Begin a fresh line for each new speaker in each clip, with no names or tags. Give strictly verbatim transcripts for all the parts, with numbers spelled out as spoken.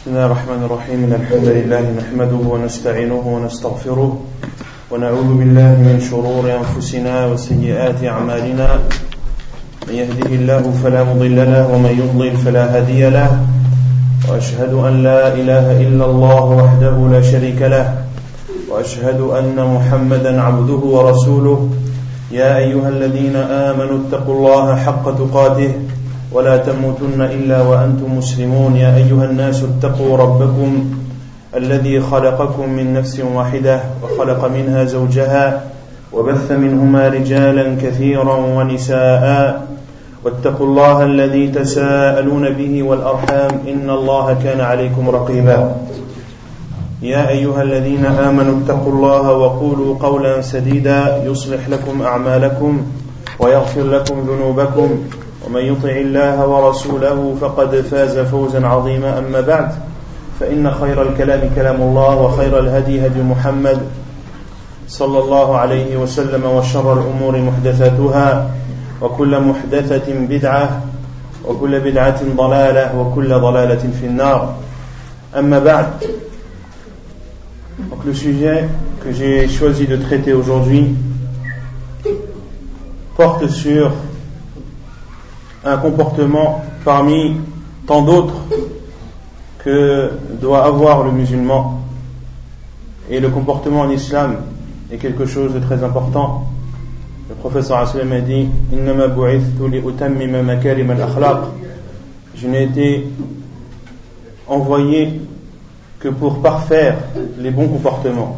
بسم الله الرحمن الرحيم إن الحمد لله نحمده ونستعينه ونستغفره ونعوذ بالله من شرور أنفسنا وسيئات أعمالنا من يهده الله فلا مضل له ومن يضلل فلا هادي له وأشهد أن لا إله إلا الله وحده لا شريك له وأشهد أن محمدا عبده ورسوله يا أيها الذين آمنوا اتقوا الله حق تقاته ولا تموتن إلا وأنتم مسلمون يا أيها الناس اتقوا ربكم الذي خلقكم من نفس واحدة وخلق منها زوجها وبث منهما رجالا كثيرا ونساء واتقوا الله الذي تساءلون به والأرحام إن الله كان عليكم رقيبا يا أيها الذين آمنوا اتقوا الله وقولوا قولا سديدا يصلح لكم أعمالكم ويغفر لكم ذنوبكم ومن يطع الله ورسوله فقد فاز فوزا عظيما أما بعد فإن خير الكلام كلام الله وخير الهدي هدي محمد صلى الله عليه وسلم وشر الأمور محدثاتها وكل محدثة بدعة وكل بدعة ضلالة وكل ضلالة في النار أما بعد. Donc le sujet que j'ai choisi de traiter aujourd'hui porte sur un comportement parmi tant d'autres que doit avoir le musulman. Et le comportement en islam est quelque chose de très important. Le prophète sallallahu alayhi wa sallam a dit Innama bu'ithtu li utammima makarim al-akhlaq. Je n'ai été envoyé que pour parfaire les bons comportements.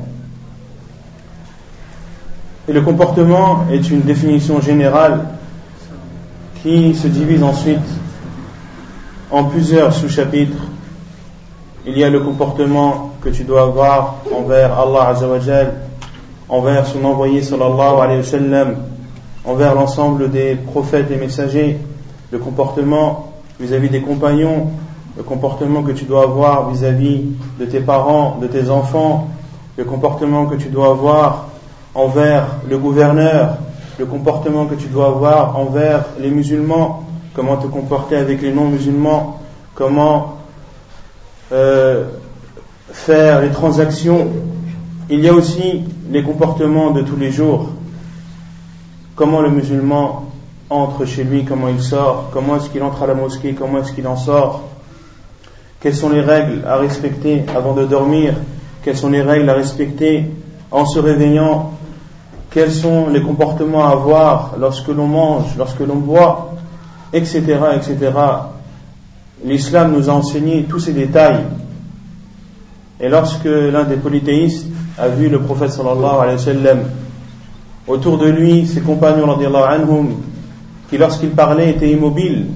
Et le comportement est une définition générale qui se divise ensuite en plusieurs sous-chapitres. Il y a le comportement que tu dois avoir envers Allah Azza wa Jal, envers son envoyé sallallahu alayhi wa sallam, envers l'ensemble des prophètes et messagers, le comportement vis-à-vis des compagnons, le comportement que tu dois avoir vis-à-vis de tes parents, de tes enfants, le comportement que tu dois avoir envers le gouverneur, le comportement que tu dois avoir envers les musulmans, comment te comporter avec les non-musulmans, comment euh, faire les transactions. Il y a aussi les comportements de tous les jours, comment le musulman entre chez lui, comment il sort, comment est-ce qu'il entre à la mosquée, comment est-ce qu'il en sort, quelles sont les règles à respecter avant de dormir, quelles sont les règles à respecter en se réveillant, quels sont les comportements à avoir lorsque l'on mange, lorsque l'on boit, et cetera, et cetera. L'islam nous a enseigné tous ces détails. Et lorsque l'un des polythéistes a vu le prophète sallallahu alayhi wa sallam, autour de lui, ses compagnons radiyallahu anhum, qui lorsqu'il parlait étaient immobiles,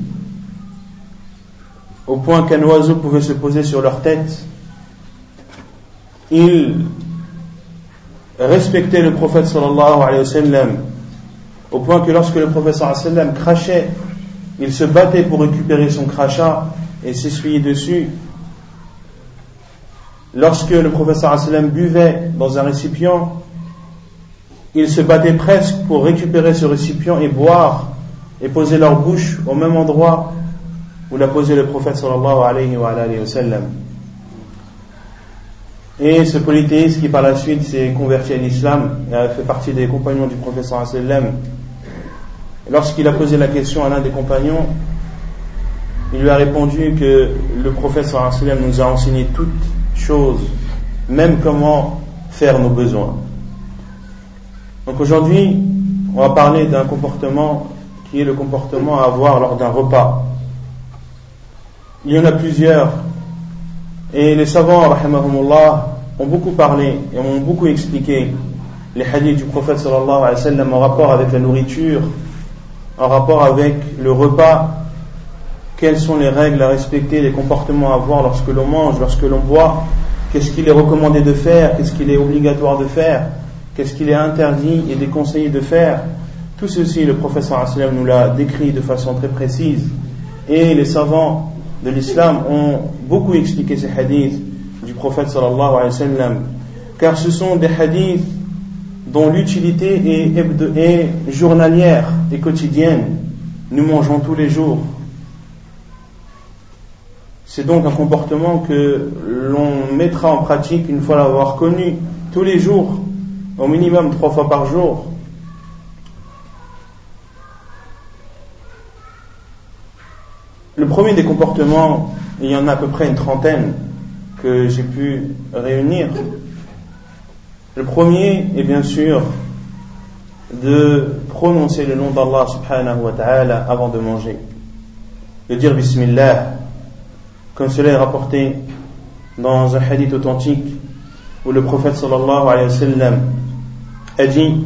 au point qu'un oiseau pouvait se poser sur leur tête, il respectait le prophète sallallahu alayhi wa sallam, au point que lorsque le prophète sallallahu alayhi wa sallam crachait, il se battait pour récupérer son crachat et s'essuyer dessus. Lorsque le prophète sallallahu alayhi wa sallam buvait dans un récipient, il se battait presque pour récupérer ce récipient et boire et poser leur bouche au même endroit où l'a posé le prophète sallallahu alayhi wa sallam. Et ce polythéiste qui par la suite s'est converti à l'islam et a fait partie des compagnons du prophète sallallahu alayhi wa sallam, lorsqu'il a posé la question à l'un des compagnons, il lui a répondu que le prophète sallallahu alayhi wa sallam nous a enseigné toutes choses, même comment faire nos besoins. Donc aujourd'hui, on va parler d'un comportement qui est le comportement à avoir lors d'un repas. Il y en a plusieurs, et les savants, rahimahumullah, ont beaucoup parlé et ont beaucoup expliqué les hadiths du prophète sallallahu alayhi wa sallam en rapport avec la nourriture, en rapport avec le repas, quelles sont les règles à respecter, les comportements à avoir lorsque l'on mange, lorsque l'on boit, qu'est-ce qu'il est recommandé de faire, qu'est-ce qu'il est obligatoire de faire, qu'est-ce qu'il est interdit et déconseillé de faire. Tout ceci, le prophète sallallahu alayhi wa sallam nous l'a décrit de façon très précise, et les savants de l'islam ont beaucoup expliqué ces hadiths du prophète sallallahu alayhi wa sallam, car ce sont des hadiths dont l'utilité est, est, est journalière et quotidienne. Nous mangeons tous les jours. c'est donc un comportement que l'on mettra en pratique une fois l'avoir connu tous les jours, au minimum trois fois par jour. Le premier des comportements, il y en a à peu près une trentaine que j'ai pu réunir. Le premier est bien sûr de prononcer le nom d'Allah subhanahu wa ta'ala avant de manger, de dire Bismillah, comme cela est rapporté dans un hadith authentique où le prophète sallallahu alayhi wa sallam a dit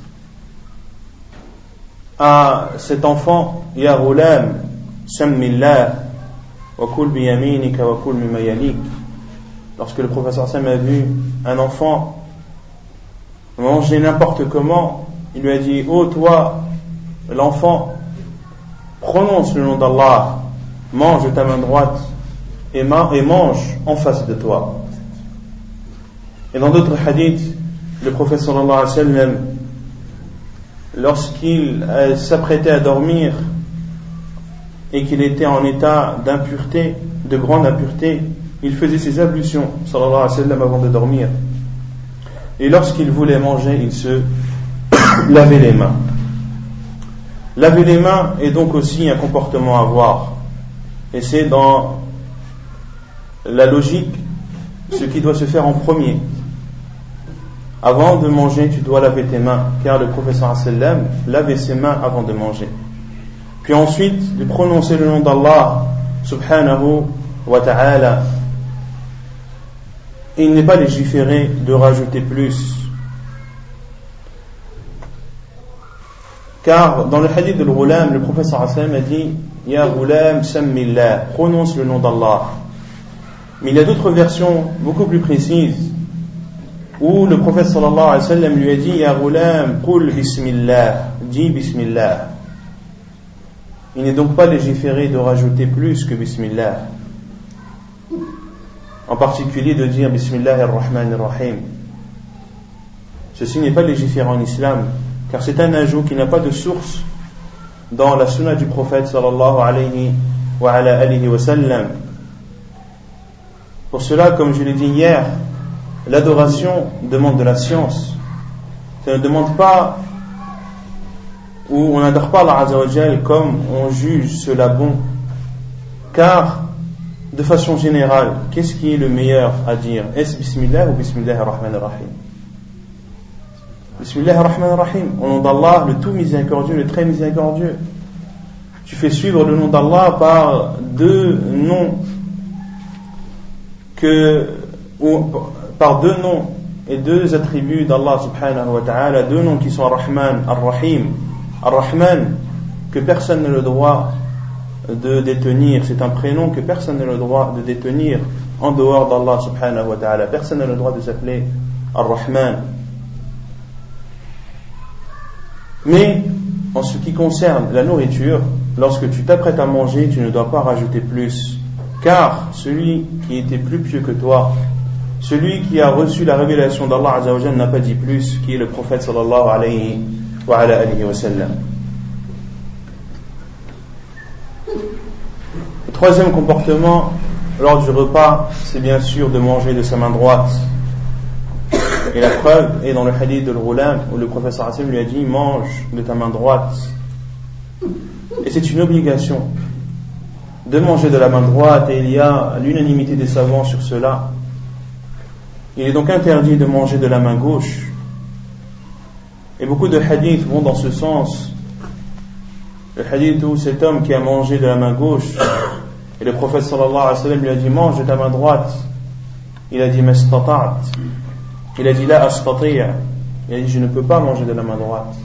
à cet enfant, Ya ghulam, sammillah wa kul bi yaminika wa kul mimma yalik. Lorsque le prophète sallallahu alayhi wa sallam a vu un enfant manger n'importe comment, il lui a dit, ô toi l'enfant, prononce le nom d'Allah, mange de ta main droite et mange en face de toi. Et dans d'autres hadiths, le prophète sallallahu alayhi wa sallam, lorsqu'il s'apprêtait à dormir et qu'il était en état d'impureté, de grande impureté, il faisait ses ablutions sallallahu alayhi wa sallam avant de dormir. Et lorsqu'il voulait manger, il se lavait les mains. Laver les mains est donc aussi un comportement à avoir. Et c'est dans la logique ce qui doit se faire en premier. Avant de manger, tu dois laver tes mains, car le prophète sallallahu alayhi wa sallam lavait ses mains avant de manger. Puis ensuite, de prononcer le nom d'Allah subhanahu wa ta'ala. Et il n'est pas légiféré de rajouter plus. Car dans le hadith de l'Ghulam, le prophète sallallahu alayhi wa sallam a dit Ya Ghulam sammillah, prononce le nom d'Allah. Mais il y a d'autres versions beaucoup plus précises où le prophète sallallahu alayhi wa sallam lui a dit Ya Ghulam qul bismillah, dis bismillah. Il n'est donc pas légiféré de rajouter plus que bismillah, en particulier de dire Bismillahir-Rahmanir-Rahim. Ceci n'est pas légiféré en islam, car c'est un ajout qui n'a pas de source dans la sunna du prophète sallallahu alayhi wa ala alihi wa sallam. Pour cela, comme je l'ai dit hier, l'adoration demande de la science. Ça ne demande pas, ou on n'adore pas Allah Azza wa Jal comme on juge cela bon, car de façon générale, qu'est-ce qui est le meilleur à dire? Est-ce Bismillah ou Bismillahir-Rahmanir-Rahim? Bismillahir-Rahmanir-Rahim, au nom d'Allah, le tout miséricordieux, le très miséricordieux. Tu fais suivre le nom d'Allah par deux noms que, ou par deux noms et deux attributs d'Allah subhanahu wa ta'ala, deux noms qui sont Ar-Rahman, Ar-Rahim. Ar-Rahman, que personne n'a le droit de détenir, c'est un prénom que personne n'a le droit de détenir en dehors d'Allah subhanahu wa ta'ala. Personne n'a le droit de s'appeler Ar-Rahman. Mais en ce qui concerne la nourriture, lorsque tu t'apprêtes à manger, tu ne dois pas rajouter plus, car celui qui était plus pieux que toi, celui qui a reçu la révélation d'Allah Azza wa Jalla n'a pas dit plus, qui est le prophète sallallahu alayhi wa ala alihi wa sallam. Le troisième comportement lors du repas, c'est bien sûr de manger de sa main droite. Et la preuve est dans le hadith de l'Ghulam où le prophète sallallahu alayhi wa sallam lui a dit mange de ta main droite. Et c'est une obligation de manger de la main droite, et il y a l'unanimité des savants sur cela. Il est donc interdit de manger de la main gauche. Et beaucoup de hadiths vont dans ce sens. Le hadith où cet homme qui a mangé de la main gauche, et le prophète sallallahu alayhi wa sallam lui a dit mange de ta main droite, il a dit mastata'at, il a dit la astati', il a dit je ne peux pas manger de la main droite.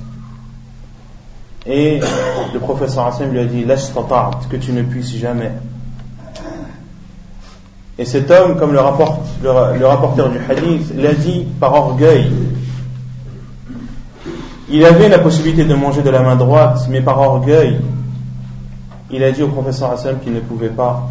Et le prophète sallallahu alayhi wa sallam lui a dit lastata'at, que tu ne puisses jamais. Et cet homme, comme le, rapporte, le, le rapporteur du hadith l'a dit par orgueil, il avait la possibilité de manger de la main droite, mais par orgueil il a dit au prophète sallallahu alayhi wa sallam qu'il ne pouvait pas.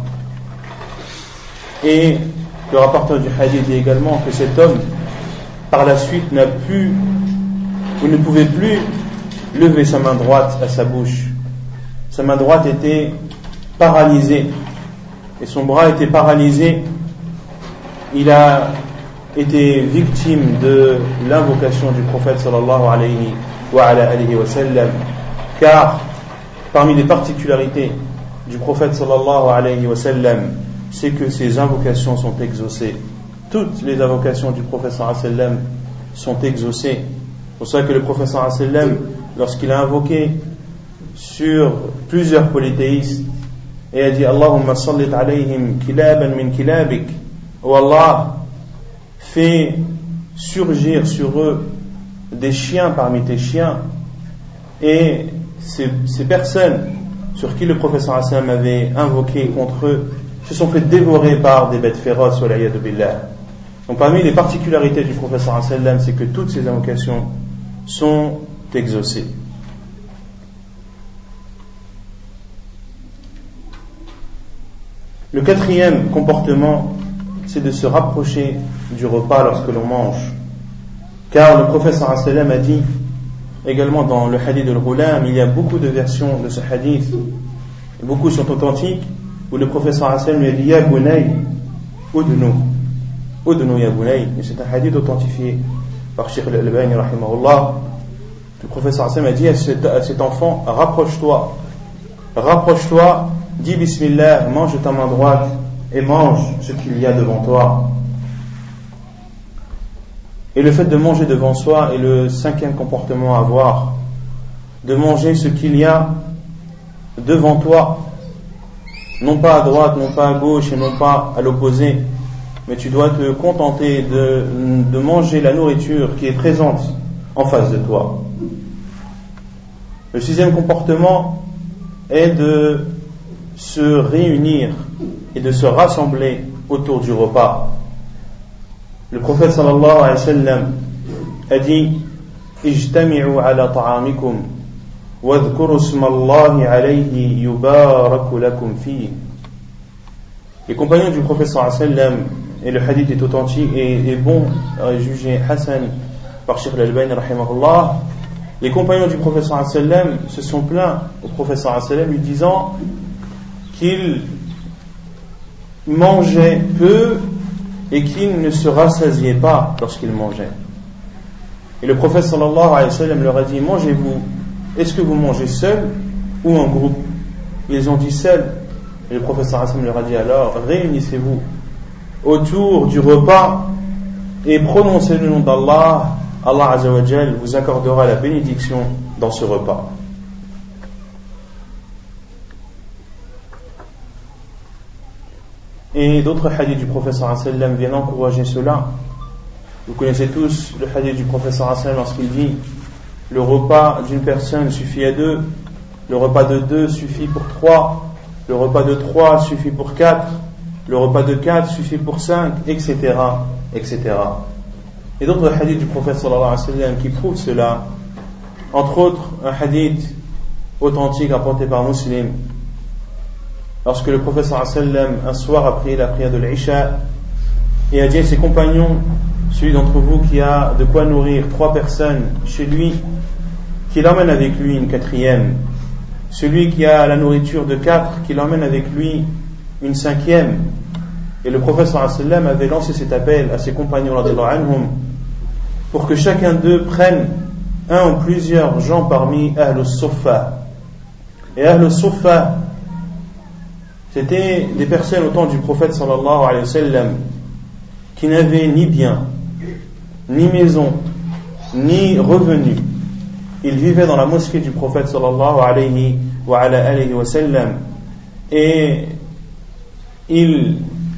Et le rapporteur du hadith dit également que cet homme par la suite n'a pu ou ne pouvait plus lever sa main droite à sa bouche. Sa main droite était paralysée et son bras était paralysé, il a été victime de l'invocation du prophète sallallahu alayhi wa ala alihi wa sallam, car parmi les particularités du prophète sallallahu alayhi wa sallam, c'est que ses invocations sont exaucées. Toutes les invocations du prophète sallallahu alayhi wa sallam sont exaucées. C'est pour ça que le prophète sallallahu alayhi wa sallam, lorsqu'il a invoqué sur plusieurs polythéistes et a dit Allahumma sallit alayhim kilaban min kilabik, oh Allah, fais surgir sur eux des chiens parmi tes chiens, et ces, ces personnes sur qui le prophète sallallahu alayhi wa sallam avait invoqué contre eux se sont fait dévorer par des bêtes féroces, wal'iyadu billah. Donc parmi les particularités du prophète sallallahu alayhi wa sallam, c'est que toutes ces invocations sont exaucées. Le quatrième comportement, c'est de se rapprocher du repas lorsque l'on mange. Car le prophète sallallahu alayhi wa sallam a dit, également dans le hadith de l'Ghulam, il y a beaucoup de versions de ce hadith, beaucoup sont authentiques, où le prophète sallallahu alayhi wa sallam lui a dit Ya bunay, udnu, udnu ya bunay. Et c'est un hadith authentifié par Cheikh al-Albani rahimahullah. Le prophète sallallahu alayhi wa sallam a dit à cet, à cet enfant, rapproche-toi, rapproche-toi, dis bismillah, mange de ta main droite et mange ce qu'il y a devant toi. Et le fait de manger devant soi est le cinquième comportement à avoir, de manger ce qu'il y a devant toi, non pas à droite, non pas à gauche et non pas à l'opposé, mais tu dois te contenter de, de manger la nourriture qui est présente en face de toi. Le sixième comportement est de se réunir et de se rassembler autour du repas. Le prophète sallallahu alayhi wa sallam a dit Ijtami'u ala ta'amikum wadhkuru ismallahi alayhi yubaraku lakum fihi. Les compagnons du prophète sallallahu alayhi wa sallam, et le hadith est authentique et est bon, jugé Hassan par Cheikh al-Albani rahimahullah, les compagnons du prophète sallallahu alayhi wa sallam se sont plaints au prophète sallallahu alayhi wa sallam lui disant qu'il mangeait peu et qu'il ne se rassasiait pas lorsqu'il mangeait. Et le prophète sallallahu alayhi wa sallam leur a dit mangez-vous, est-ce que vous mangez seul ou en groupe? Ils ont dit seul. Et le prophète sallallahu alayhi wa sallam leur a dit alors réunissez-vous autour du repas et prononcez le nom d'Allah. Allah azza wa jal vous accordera la bénédiction dans ce repas. Et d'autres hadiths du prophète sallallahu alayhi wa sallam viennent encourager cela. Vous connaissez tous le hadith du prophète sallallahu alayhi wa sallam lorsqu'il dit le repas d'une personne suffit à deux, le repas de deux suffit pour trois, le repas de trois suffit pour quatre, le repas de quatre suffit pour cinq, et cetera, et cetera. Et d'autres hadiths du prophète sallallahu alayhi wa sallam qui prouvent cela, entre autres un hadith authentique rapporté par Muslim, lorsque le prophète sallallahu alayhi wa sallam un soir a prié la prière de l'Isha et a dit à ses compagnons, celui d'entre vous qui a de quoi nourrir trois personnes chez lui, qu'il emmène avec lui une quatrième, celui qui a la nourriture de quatre, qu'il emmène avec lui une cinquième. Et le prophète sallallahu alayhi wa sallam avait lancé cet appel à ses compagnons radiyallahu anhum pour que chacun d'eux prenne un ou plusieurs gens parmi Ahlus Suffa. Et Ahlus Suffa, c'était des personnes au temps du prophète sallallahu alayhi wa sallam qui n'avaient ni bien, ni maison, ni revenus. Ils vivaient dans la mosquée du prophète sallallahu alayhi wa ala alayhi wa sallam et ils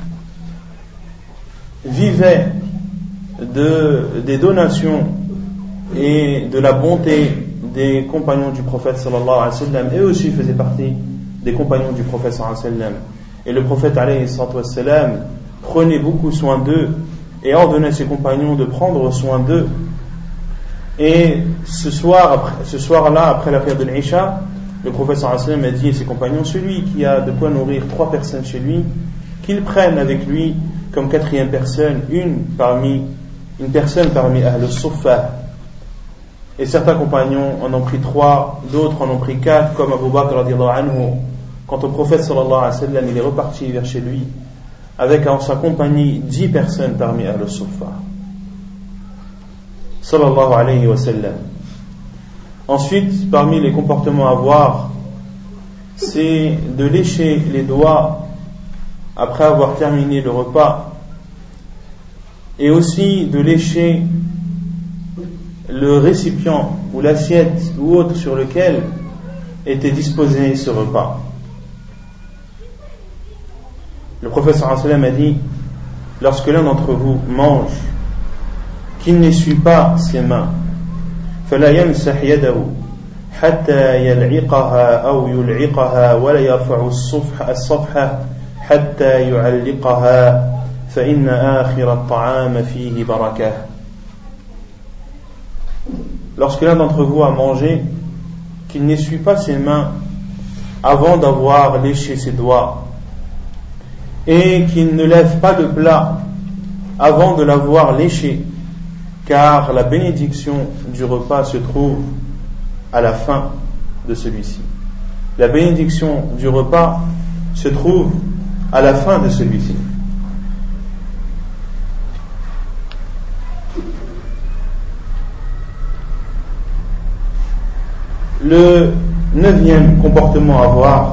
vivaient de, des donations et de la bonté des compagnons du prophète sallallahu alayhi wa sallam. Eux aussi faisaient partie des compagnons du prophète sallallahu alayhi wa sallam. Et le prophète alayhi wa sallam prenait beaucoup soin d'eux et ordonnait à ses compagnons de prendre soin d'eux. Et ce soir, après, ce soir-là, après la prière de l'Isha, le prophète sallallahu alayhi wa sallam a dit à ses compagnons, celui qui a de quoi nourrir trois personnes chez lui, qu'il prenne avec lui comme quatrième personne une parmi une personne parmi Ahlus Suffa. Et certains compagnons en ont pris trois, d'autres en ont pris quatre, comme Abu Bakr radiyallahu anhu, quand au prophète sallallahu alayhi wa sallam, il est reparti vers chez lui avec en sa compagnie dix personnes parmi Ahl al-Suffa. Sallallahu alayhi wa sallam. Ensuite, parmi les comportements à voir, c'est de lécher les doigts après avoir terminé le repas, et aussi de lécher le récipient ou l'assiette ou autre sur lequel était disposé ce repas. Le prophète sallallahu alayhi wa sallam a dit, lorsque l'un d'entre vous mange, qu'il n'essuie pas ses mains, فلا يمسح يده حتى يلعقها أو يلعقها ولا يرفع الصفح الصفحة حتى يعلقها فإن آخر الطعام فيه بركة. Lorsque l'un d'entre vous a mangé, qu'il n'essuie pas ses mains avant d'avoir léché ses doigts, et qu'il ne lève pas de plat avant de l'avoir léché, car la bénédiction du repas se trouve à la fin de celui-ci. La bénédiction du repas se trouve à la fin de celui-ci. Le neuvième comportement à voir,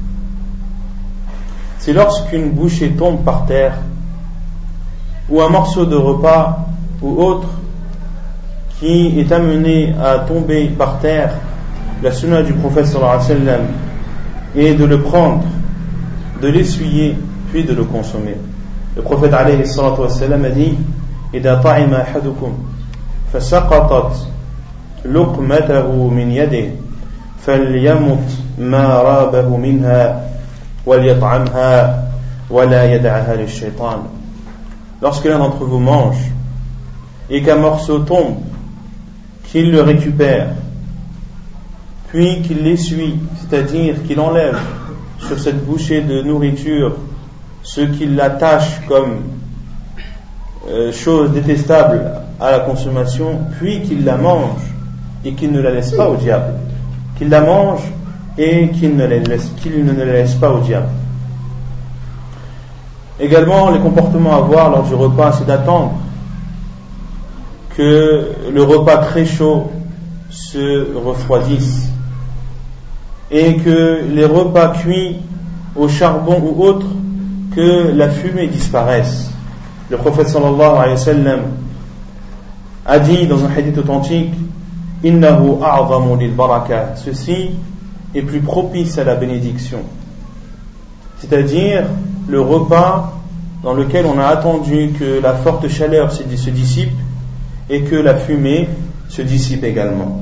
c'est lorsqu'une bouchée tombe par terre, ou un morceau de repas ou autre qui est amené à tomber par terre. La sunna du prophète sallallahu alayhi wa sallam est de le prendre, de l'essuyer, puis de le consommer. Le prophète alayhi salatu wa sallam a dit: إذا طعم أحدكم فسقطت لقمته من يده فليمت ما رابه منها وليطعمها ولا يدعها للشيطان. Lorsque l'un d'entre vous mange et qu'un morceau tombe, qu'il le récupère, puis qu'il l'essuie, c'est-à-dire qu'il enlève sur cette bouchée de nourriture ce qui l'attache comme euh, chose détestable à la consommation, puis qu'il la mange et qu'il ne la laisse pas au diable. Qu'il la mange et qu'il ne la laisse, qu'il ne la laisse pas au diable. Également, les comportements à voir lors du repas, c'est d'attendre que le repas très chaud se refroidisse et que les repas cuits au charbon ou autre, que la fumée disparaisse. Le prophète sallallahu alayhi wa sallam a dit dans un hadith authentique: Innahu a'zamu lil baraka, ceci est plus propice à la bénédiction, c'est-à-dire le repas dans lequel on a attendu que la forte chaleur se dissipe et que la fumée se dissipe également.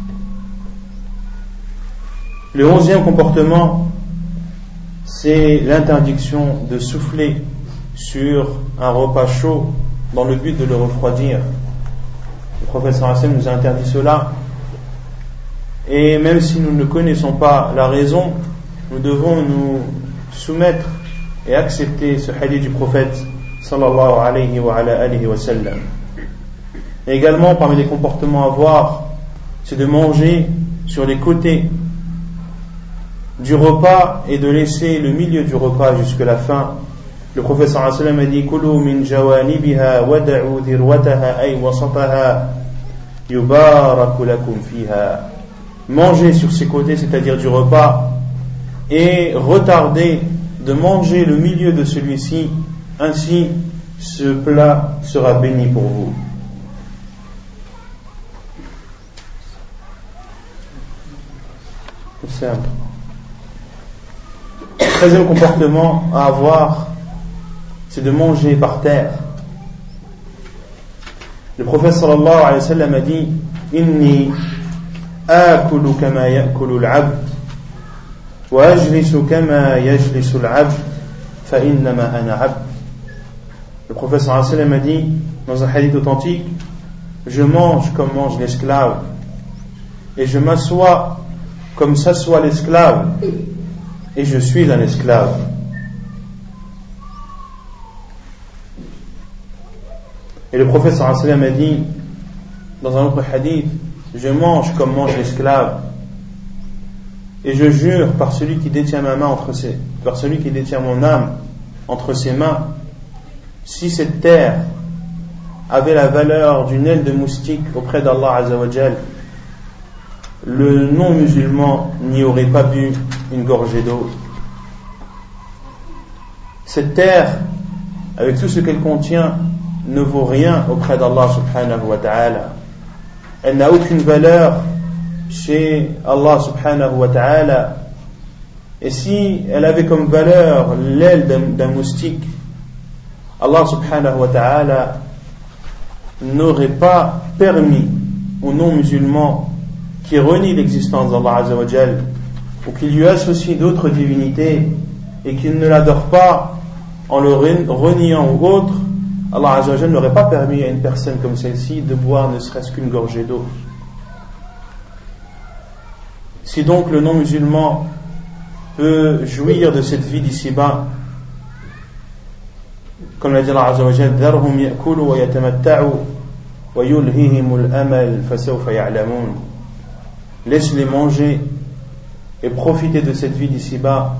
Le onzième comportement, c'est l'interdiction de souffler sur un repas chaud dans le but de le refroidir. Le prophète sallallahu alayhi wa sallam nous a interdit cela, et même si nous ne connaissons pas la raison, nous devons nous soumettre et accepter ce hadith du prophète sallallahu alayhi wa ala alihi wa sallam. Et également, parmi les comportements à voir, c'est de manger sur les côtés du repas et de laisser le milieu du repas jusqu'à la fin. Le prophète sallallahu alayhi wa sallam a dit: Kulu min jawanibiha wada'u dhirwataha ay wasataha yubaraku lakum fiha. Mangez sur ses côtés, c'est-à-dire du repas, et retardez de manger le milieu de celui-ci, ainsi ce plat sera béni pour vous. Le treizième comportement à avoir, c'est de manger par terre. Le prophète sallallahu alayhi wa sallam a dit: Inni akulu kama yakulu al-abd wa ajlisu kama yajlisu al-abd fa innama ana abd. Le prophète sallallahu alayhi wa sallam a dit dans un hadith authentique: je mange comme mange l'esclave et je m'assois comme s'assoit l'esclave, et je suis un esclave. Et le prophète sallallahu alayhi wa sallam a dit dans un autre hadith: je mange comme mange l'esclave Et je jure par celui qui détient ma main entre ses, par celui qui détient mon âme entre ses mains, si cette terre avait la valeur d'une aile de moustique auprès d'Allah Azza wa Jal, le non-musulman n'y aurait pas bu une gorgée d'eau. Cette terre, avec tout ce qu'elle contient, ne vaut rien auprès d'Allah subhanahu wa ta'ala. Elle n'a aucune valeur chez Allah subhanahu wa ta'ala. Et si elle avait comme valeur l'aile d'un, d'un moustique, Allah subhanahu wa ta'ala n'aurait pas permis aux non-musulmans qui renient l'existence d'Allah Azza wa Jal ou qui lui associent d'autres divinités et qui ne l'adorent pas en le reniant ou autre, Allah Azza wa Jal n'aurait pas permis à une personne comme celle-ci de boire ne serait-ce qu'une gorgée d'eau. Si donc le non-musulman peut jouir de cette vie d'ici-bas, comme l'a dit Allah Azza wa Jal, dharhum ya'kulu wa yatamatta'u wa yulhihimul amal fasawfa ya'lamun. Laisse-les manger et profiter de cette vie d'ici-bas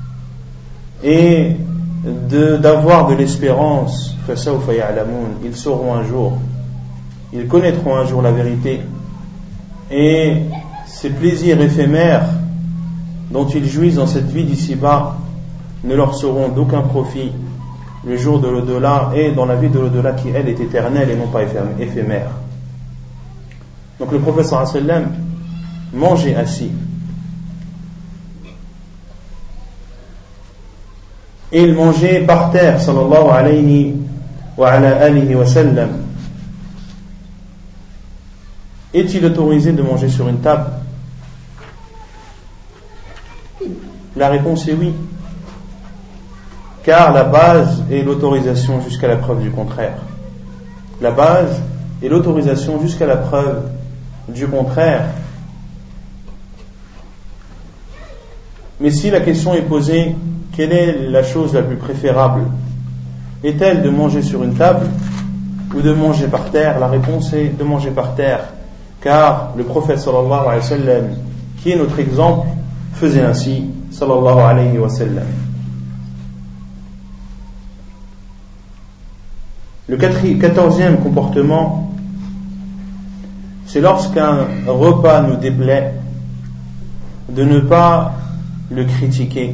et de, d'avoir de l'espérance. fasawfa ya'lamun. Ils sauront un jour, ils connaîtront un jour la vérité, et ces plaisirs éphémères dont ils jouissent dans cette vie d'ici-bas ne leur seront d'aucun profit le jour de l'au-delà et dans la vie de l'au-delà qui elle est éternelle et non pas éphémère. Donc le prophète sallallahu alayhi wa sallam mangeait assis et il mangeait par terre sallallahu alayhi wa ala alihi wa sallam. Est-il autorisé de manger sur une table? La réponse est oui, car la base est l'autorisation jusqu'à la preuve du contraire. La base est l'autorisation jusqu'à la preuve du contraire. Mais si la question est posée, quelle est la chose la plus préférable? Est-elle de manger sur une table ou de manger par terre? La réponse est de manger par terre, car le prophète sallallahu alayhi wa sallam, qui est notre exemple, faisait ainsi sallallahu alayhi wa sallam. Le quatorzième comportement, c'est lorsqu'un repas nous déplaît, de ne pas le critiquer,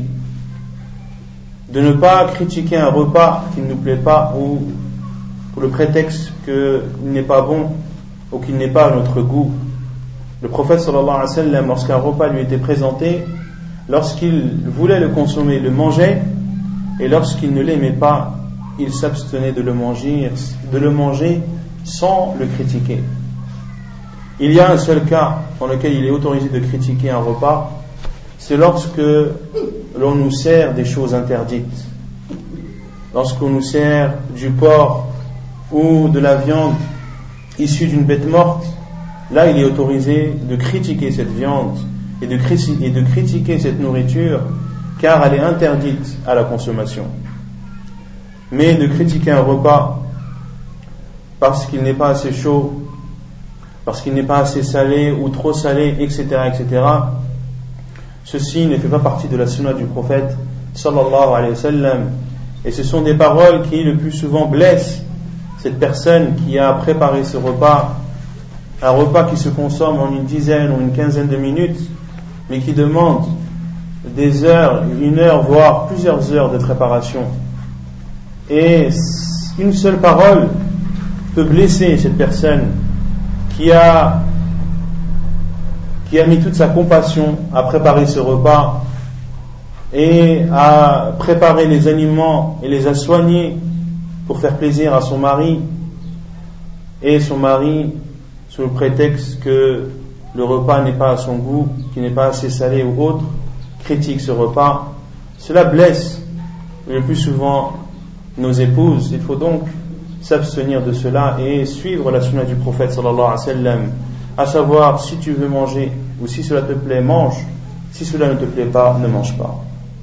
de ne pas critiquer un repas qui ne nous plaît pas ou pour le prétexte qu'il n'est pas bon ou qu'il n'est pas à notre goût. Le prophète sallallahu alayhi wa sallam, lorsqu'un repas lui était présenté, lorsqu'il voulait le consommer, il le mangeait, et lorsqu'il ne l'aimait pas, il s'abstenait de le manger, de le manger sans le critiquer. Il y a un seul cas dans lequel il est autorisé de critiquer un repas, c'est lorsque l'on nous sert des choses interdites. Lorsqu'on nous sert du porc ou de la viande issue d'une bête morte, là il est autorisé de critiquer cette viande et de, critiquer, et de critiquer cette nourriture, car elle est interdite à la consommation. Mais de critiquer un repas parce qu'il n'est pas assez chaud, parce qu'il n'est pas assez salé ou trop salé, et cetera, et cetera, ceci ne fait pas partie de la sunna du prophète sallallahu alayhi wa sallam, et ce sont des paroles qui le plus souvent blessent cette personne qui a préparé ce repas, un repas qui se consomme en une dizaine ou une quinzaine de minutes, mais qui demande des heures, une heure, voire plusieurs heures de préparation. Et une seule parole peut blesser cette personne qui a qui a mis toute sa compassion à préparer ce repas et à préparer les aliments et les a soignés pour faire plaisir à son mari, et son mari, sous le prétexte que le repas n'est pas à son goût, qu'il n'est pas assez salé ou autre, critique ce repas. Cela blesse le plus souvent nos épouses. Il faut donc s'abstenir de cela et suivre la sunna du prophète sallallahu alayhi wa sallam, à savoir, si tu veux manger ou si cela te plaît, mange, si cela ne te plaît pas, ne mange pas.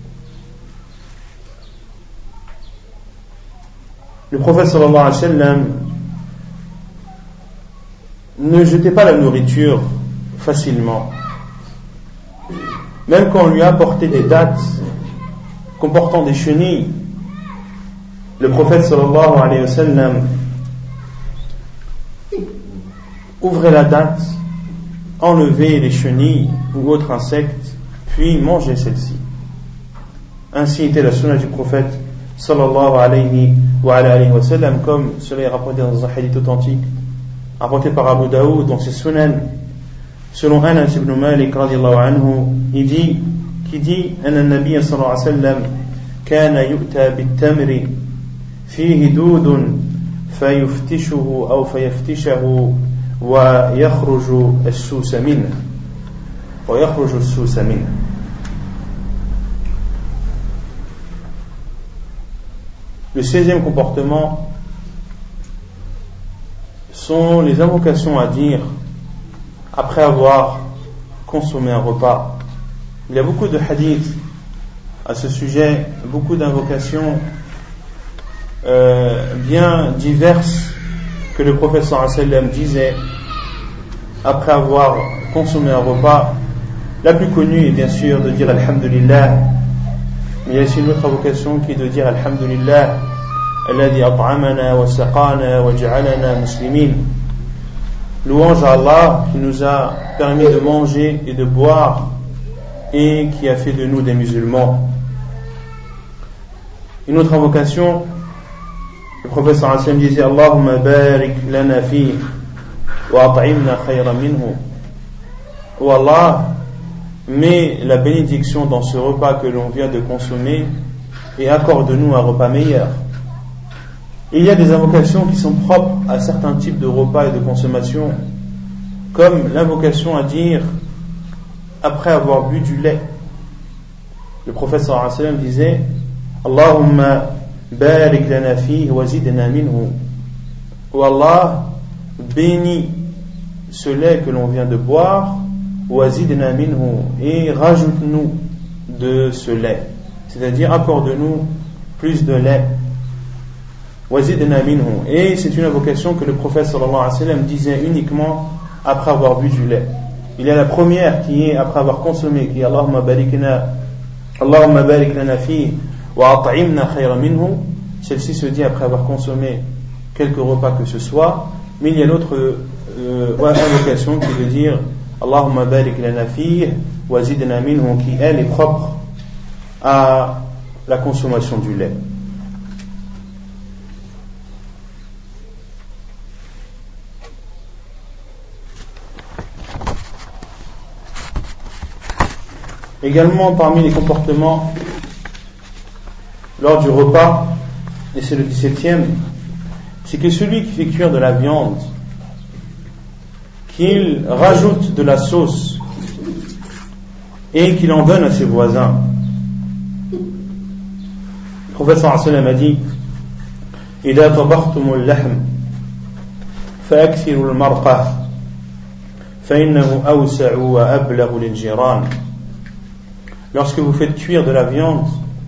Le prophète sallallahu alayhi wa sallam ne jetait pas la nourriture facilement. même quand on lui a apporté des dattes comportant des chenilles, le prophète sallallahu alayhi wa sallam ouvrait la date, enlevait les chenilles ou autres insectes, puis mangeait celles-ci. Ainsi était la sunna du prophète sallallahu alayhi wa, alayhi wa sallam, comme cela est rapporté dans un hadith authentique rapporté par Abu Daoud dans ses sunan, selon Anas ibn Malik radiyallahu anhu, il dit, qui dit anna an-nabiy sallallahu alayhi wa sallam kana yu'ta bit-tamri fihi dudun fayuftishuhu aw fayaftishahu wa yakhruju as-susa minhu wa yakhruju as-susa minhu. Le seizième comportement sont les invocations à dire après avoir consommé un repas. Il y a beaucoup de hadiths à ce sujet, beaucoup d'invocations euh, bien diverses que le prophète sallallahu alayhi wa sallam disait après avoir consommé un repas. La plus connue est bien sûr de dire Alhamdulillah. Il y a aussi une autre invocation qui est de dire Alhamdulillah alladhi at'amana wa saqana wa ja'alana muslimin. Louange à Allah qui nous a permis de manger et de boire et qui a fait de nous des musulmans. Une autre invocation, le prophète sallallahu alayhi wa sallam disait Allahumma barik lana fihi wa at'imna khayran minhu. Oh Allah, mets la bénédiction dans ce repas que l'on vient de consommer et accorde-nous un repas meilleur. Il y a des invocations qui sont propres à certains types de repas et de consommation, comme l'invocation à dire après avoir bu du lait. Le prophète sallallahu alayhi wa sallam disait Allahumma barik lana fihi wa zidna minhu. Oh Allah, bénis ce lait que l'on vient de boire, wazidna minhu, et rajoute-nous de ce lait, c'est-à-dire accorde-nous plus de lait. Wazidna minhu, et c'est une invocation que le prophète sallallahu alayhi wa sallam disait uniquement après avoir bu du lait. Il y a la première qui est après avoir consommé, qui est Allahumma barikna Allahumma barik lana fihi wa at'imna khayran minhu. Celle-ci se dit après avoir consommé quelque repas que ce soit. Mais il y a l'autre euh, invocation qui veut dire Allahumma barik lana fihi wa zidna minhu, qui elle est propre à la consommation du lait. Également parmi les comportements lors du repas, et c'est le dix-septième, c'est que celui qui fait cuire de la viande, qu'il rajoute de la sauce et qu'il en donne à ses voisins. Le prophète sallallahu alayhi wa sallam a dit إذا طبختم اللحم فأكثروا المرقة فإنه أوسع وأبلغ للجيران. Lorsque vous faites cuire de la viande,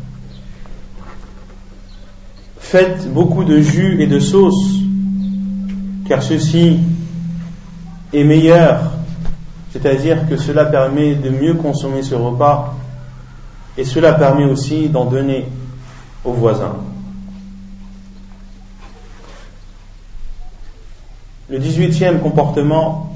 faites beaucoup de jus et de sauce, car ceci est meilleur, c'est-à-dire que cela permet de mieux consommer ce repas et cela permet aussi d'en donner aux voisins. Le dix-huitième comportement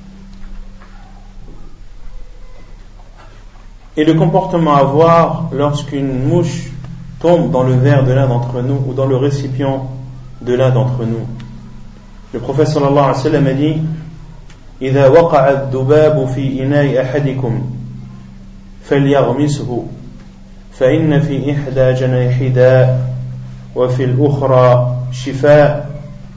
est le comportement à avoir lorsqu'une mouche tombe dans le verre de l'un d'entre nous ou dans le récipient de l'un d'entre nous. Le prophète sallallahu alayhi wa sallam a dit إذا وقع الذباب في إناء أحدكم فليغمسه فإن في إحدى جناحيه داء وفي الأخرى شفاء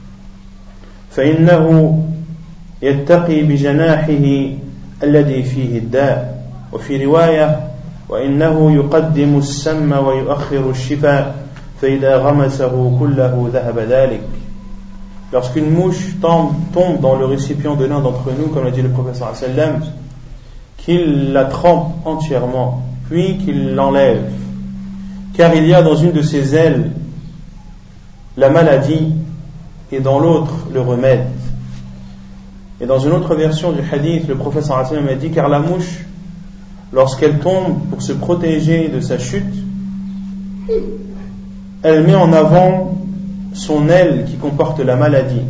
فإنه يتقي بجناحه الذي فيه الداء وفي رواية وإنه يقدم السم ويؤخر الشفاء فإذا غمسه كله ذهب ذلك. Lorsqu'une mouche tombe, tombe dans le récipient de l'un d'entre nous, comme l'a dit le prophète sallallahu alayhi wa sallam, qu'il la trempe entièrement, puis qu'il l'enlève, car il y a dans une de ses ailes la maladie et dans l'autre le remède. Et dans une autre version du hadith, le prophète sallallahu alayhi wa sallam a dit, car la mouche lorsqu'elle tombe pour se protéger de sa chute, elle met en avant son aile qui comporte la maladie.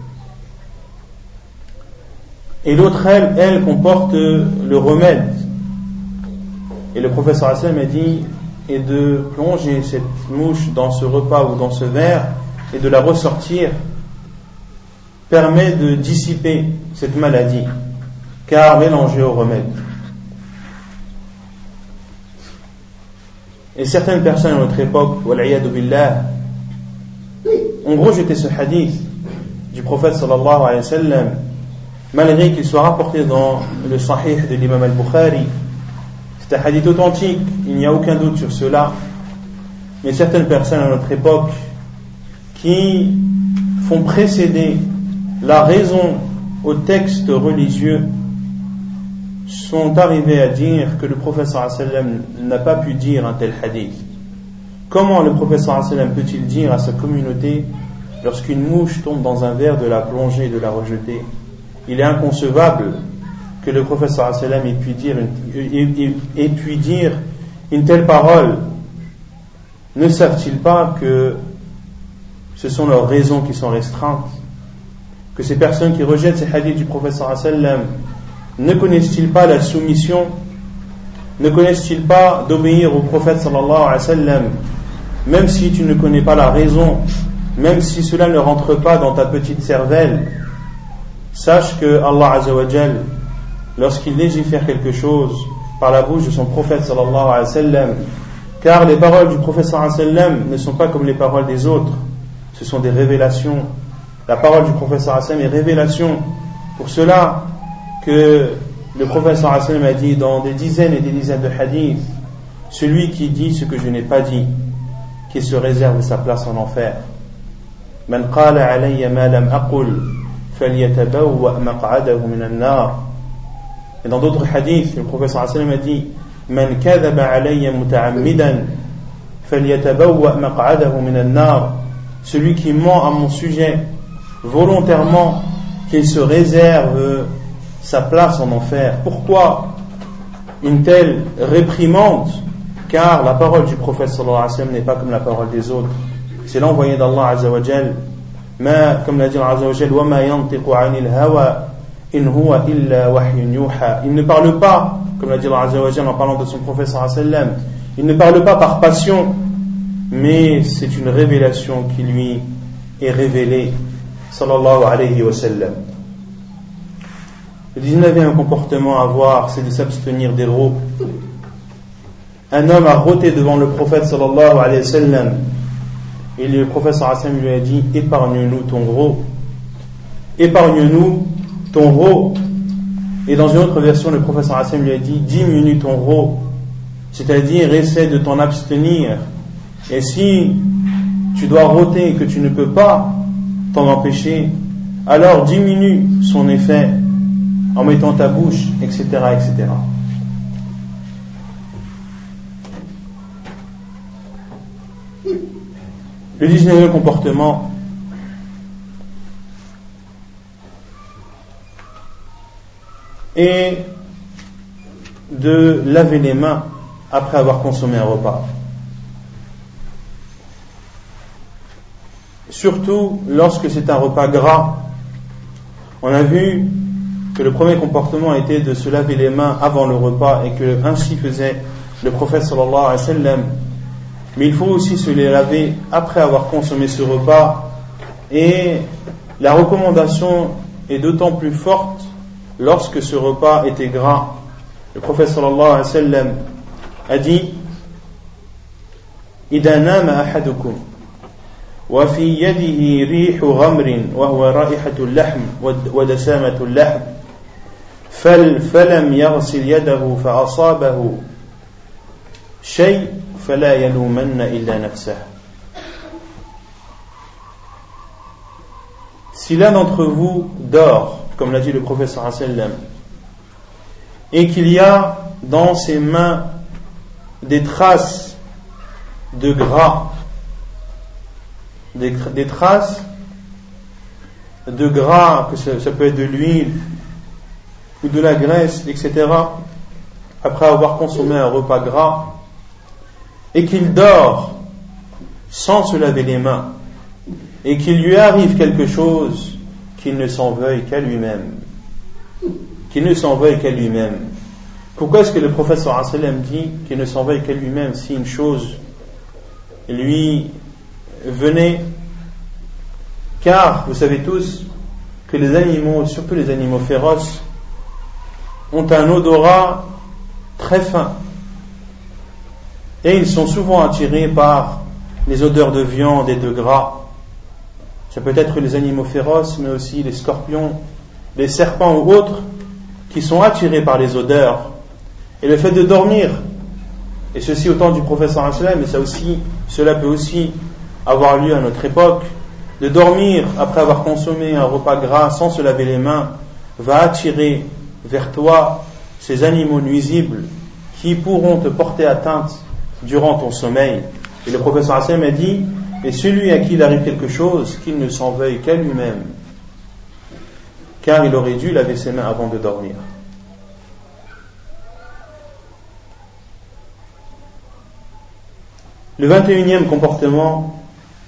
Et l'autre aile, elle, comporte le remède. Et le prophète sallallahu alayhi wa sallam a dit, et de plonger cette mouche dans ce repas ou dans ce verre et de la ressortir permet de dissiper cette maladie, car mélangée au remède. Et certaines personnes à notre époque, wal'iyadu billah, ont rejeté ce hadith du prophète sallallahu alayhi wa sallam, malgré qu'il soit rapporté dans le sahih de l'imam al-Bukhari. C'est un hadith authentique, il n'y a aucun doute sur cela. Mais certaines personnes à notre époque qui font précéder la raison au texte religieux sont arrivés à dire que le prophète sallallahu alayhi wa sallam n'a pas pu dire un tel hadith. Comment le prophète sallallahu alayhi wa sallam peut-il dire à sa communauté, lorsqu'une mouche tombe dans un verre, de la plonger et de la rejeter? Il est inconcevable que le prophète sallallahu alayhi wa sallam ait pu dire une, ait pu dire une telle parole. Ne savent-ils pas que ce sont leurs raisons qui sont restreintes? Que ces personnes qui rejettent ces hadiths du prophète sallallahu alayhi wa sallam, ne connaissent-ils pas la soumission? Ne connaissent-ils pas d'obéir au prophète sallallahu alayhi wa sallam, même si tu ne connais pas la raison, même si cela ne rentre pas dans ta petite cervelle? Sache que Allah azza wa jal, lorsqu'il légifère quelque chose par la bouche de son prophète sallallahu alayhi wa sallam, car les paroles du prophète sallallahu alayhi wa sallam ne sont pas comme les paroles des autres, ce sont des révélations. La parole du prophète sallallahu alayhi wa sallam est révélation. Pour cela que le prophète sallallahu alayhi wa sallam a dit dans des dizaines et des dizaines de hadiths, celui qui dit ce que je n'ai pas dit, qui se réserve sa place en enfer. Man qala alayya ma lam aqul falyatabawwa maq'adahu min an-nar. Et dans d'autres hadiths, le prophète sallallahu alayhi wa sallam a dit, man kadhaba alayya muta'ammidan falyatabawwa maq'adahu min an-nar. Celui qui ment à mon sujet volontairement, qu'il se réserve sa place en enfer. Pourquoi une telle réprimande? Car la parole du prophète sallallahu alayhi wa sallam n'est pas comme la parole des autres. C'est l'envoyé d'Allah azza wa jal. Ma, comme l'a dit Allah azza wa jal, wa ma yantiqu anil hawa in huwa illa wahyun yuha. Il ne parle pas, comme l'a dit Allah azza wa jal en parlant de son prophète sallallahu alayhi wa sallam, il ne parle pas par passion, mais c'est une révélation qui lui est révélée sallallahu alayhi wa sallam. Le dix-neuvième comportement à avoir, c'est de s'abstenir des rots. Un homme a rôté devant le prophète sallallahu alayhi wa sallam, et le prophète sallallahu alayhi wa sallam lui a dit, épargne-nous ton rot, épargne-nous ton rot. Et dans une autre version, le prophète sallallahu alayhi wa sallam lui a dit, diminue ton rot, c'est-à-dire essaie de t'en abstenir. Et si tu dois rôter et que tu ne peux pas t'en empêcher, alors diminue son effet en mettant ta bouche, et cetera, et cetera. Le dix-neuvième comportement est de laver les mains après avoir consommé un repas. Surtout lorsque c'est un repas gras. On a vu que le premier comportement était de se laver les mains avant le repas et que ainsi faisait le prophète sallallahu alayhi wa sallam. Mais il faut aussi se les laver après avoir consommé ce repas, et la recommandation est d'autant plus forte lorsque ce repas était gras. Le prophète sallallahu alayhi wa sallam a dit, إذا نام أحدكم وفي يده ريح غمر وهو رائحة اللحم ودسامة اللحم فلم يغسل يده فأصابه شيء فلا يلومن إلا نفسه. Si l'un d'entre vous dort, comme l'a dit le prophète sallallahu alayhi wa sallam, et qu'il y a dans ses mains des traces de gras, des, des traces de gras, que ça, ça peut être de l'huile ou de la graisse, et cetera, après avoir consommé un repas gras et qu'il dort sans se laver les mains et qu'il lui arrive quelque chose, qu'il ne s'en veuille qu'à lui-même. Qu'il ne s'en veuille qu'à lui-même. Pourquoi est-ce que le prophète sallallahu alayhi wa sallam dit qu'il ne s'en veuille qu'à lui-même si une chose lui venait? Car vous savez tous que les animaux, surtout les animaux féroces, ont un odorat très fin et ils sont souvent attirés par les odeurs de viande et de gras. Ça peut être les animaux féroces, mais aussi les scorpions, les serpents ou autres qui sont attirés par les odeurs. Et le fait de dormir, et ceci au temps du prophète sallallahu alayhi wa sallam, mais ça aussi, cela peut aussi avoir lieu à notre époque, de dormir après avoir consommé un repas gras sans se laver les mains, va attirer vers toi ces animaux nuisibles qui pourront te porter atteinte durant ton sommeil. Et le prophète sallallahu alayhi wa sallam a dit, et celui à qui il arrive quelque chose, qu'il ne s'en veuille qu'à lui-même, car il aurait dû laver ses mains avant de dormir. Le vingt et unième comportement,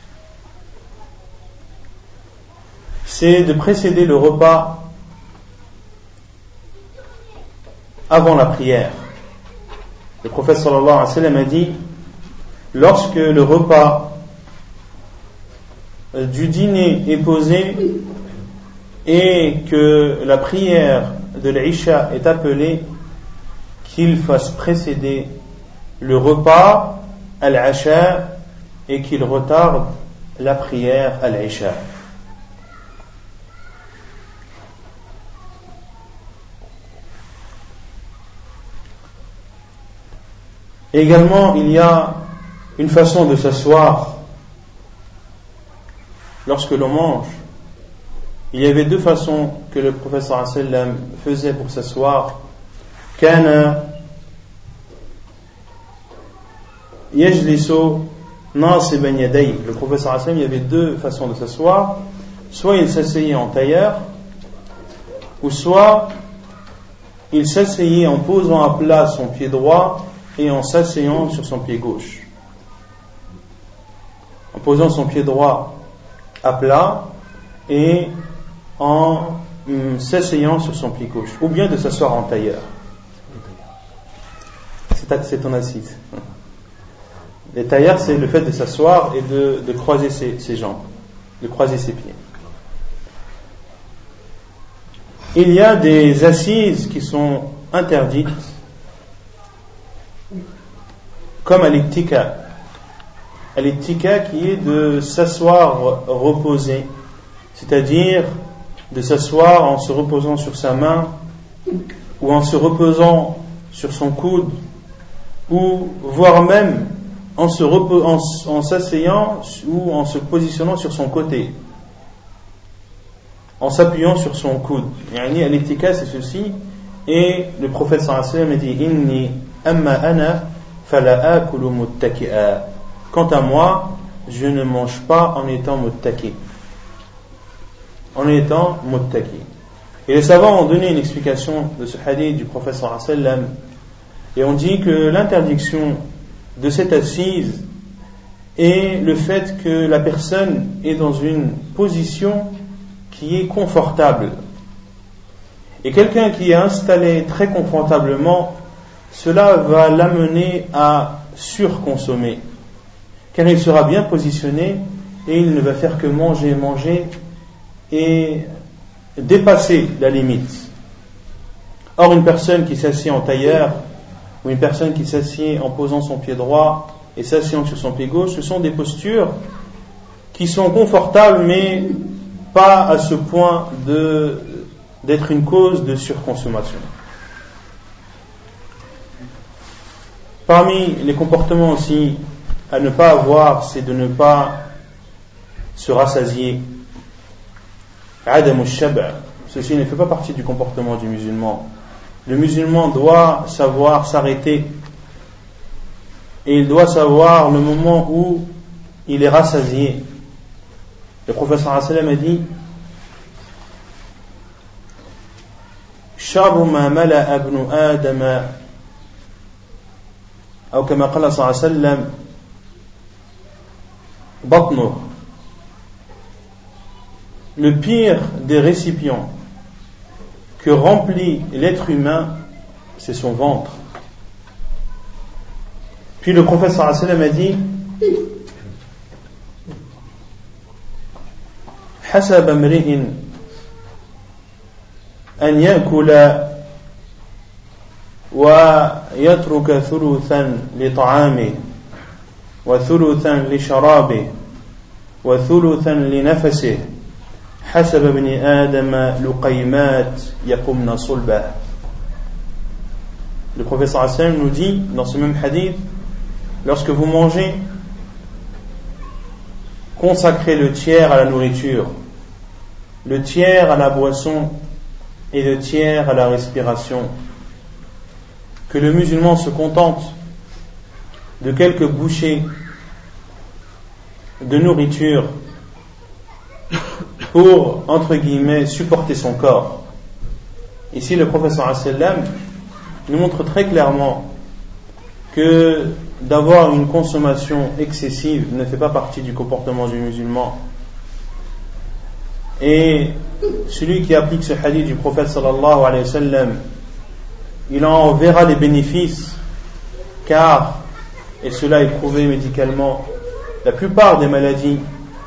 c'est de précéder le repas avant la prière. Le prophète sallallahu alayhi wa sallam a dit, lorsque le repas du dîner est posé et que la prière de l'Isha est appelée, qu'il fasse précéder le repas al-Asha et qu'il retarde la prière al-Isha. Également, il y a une façon de s'asseoir lorsque l'on mange. Il y avait deux façons que le prophète sallallahu alayhi wa sallam faisait pour s'asseoir. Kana yajlisu nasiban yadayhi. Le prophète sallallahu alayhi wa sallam, il y avait deux façons de s'asseoir. Soit il s'asseyait en tailleur, ou soit il s'asseyait en posant à plat son pied droit et en s'asseyant sur son pied gauche. En posant son pied droit à plat et en hum, s'asseyant sur son pied gauche, ou bien de s'asseoir en tailleur. C'est, c'est ton assise. Les tailleurs, c'est le fait de s'asseoir et de, de croiser ses, ses jambes, de croiser ses pieds. Il y a des assises qui sont interdites, comme à l'ittika. À l'ittika qui est de s'asseoir reposé, c'est-à-dire de s'asseoir en se reposant sur sa main ou en se reposant sur son coude ou voire même en, se repo- en, en s'asseyant ou en se positionnant sur son côté, en s'appuyant sur son coude. Yani à l'ittika c'est ceci, et le prophète sallallahu alayhi wa sallam a dit inni amma ana fala akulu muttaki'a. Quant à moi, je ne mange pas en étant muttaki. En étant muttaki. Et les savants ont donné une explication de ce hadith du prophète sallallahu alayhi wa sallam, et on dit que l'interdiction de cette assise est le fait que la personne est dans une position qui est confortable. Et quelqu'un qui est installé très confortablement, cela va l'amener à surconsommer, car il sera bien positionné et il ne va faire que manger, manger et dépasser la limite. Or, une personne qui s'assied en tailleur ou une personne qui s'assied en posant son pied droit et s'assied sur son pied gauche, ce sont des postures qui sont confortables mais pas à ce point de, d'être une cause de surconsommation. Parmi les comportements aussi à ne pas avoir, c'est de ne pas se rassasier. Adam al-shab', ceci ne fait pas partie du comportement du musulman. Le musulman doit savoir s'arrêter et il doit savoir le moment où il est rassasié. Le prophète sallallahu alayhi wa sallam a dit Sharru ma mala'a ibnu Adama أو كما قال صلى الله عليه وسلم بطنه. Le pire des récipients que remplit l'être humain, c'est son ventre. Puis le prophète sallallahu alayhi wa sallam a dit حسب امرئ أن يأكل ويترك ثلثا لطعامه وثلثا لشرابه وثلثا لنفسه حسب ابن آدم لقيمات يقمن صلبه. Le prophète sallallahu alayhi wa sallam nous dit dans ce même hadith, lorsque vous mangez, consacrez le tiers à la nourriture, le tiers à la boisson et le tiers à la respiration. Que le musulman se contente de quelques bouchées de nourriture pour, entre guillemets, supporter son corps. Ici, le prophète sallallahu alayhi wa sallam nous montre très clairement que d'avoir une consommation excessive ne fait pas partie du comportement du musulman. Et celui qui applique ce hadith du prophète sallallahu alayhi wa sallam, il en verra les bénéfices, car, et cela est prouvé médicalement, la plupart des maladies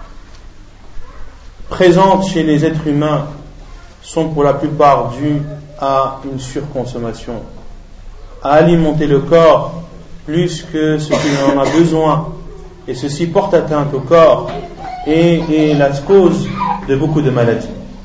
présentes chez les êtres humains sont pour la plupart dues à une surconsommation, à alimenter le corps plus que ce qu'il en a besoin, et ceci porte atteinte au corps et est la cause de beaucoup de maladies.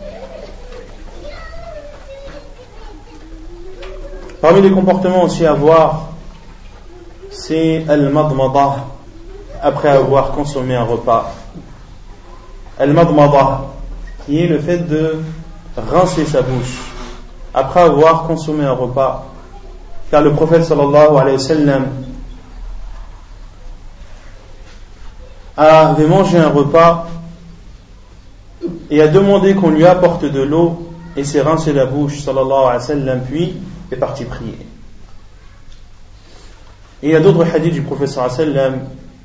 Parmi les comportements aussi à voir, c'est al-madmada, après avoir consommé un repas. Al-madmada, qui est le fait de rincer sa bouche après avoir consommé un repas. Car le prophète sallallahu alayhi wa sallam avait mangé un repas et a demandé qu'on lui apporte de l'eau et s'est rincé la bouche sallallahu alayhi wa sallam, puis est parti prier. Et il y a d'autres hadiths du prophète sallallahu alayhi wa sallam,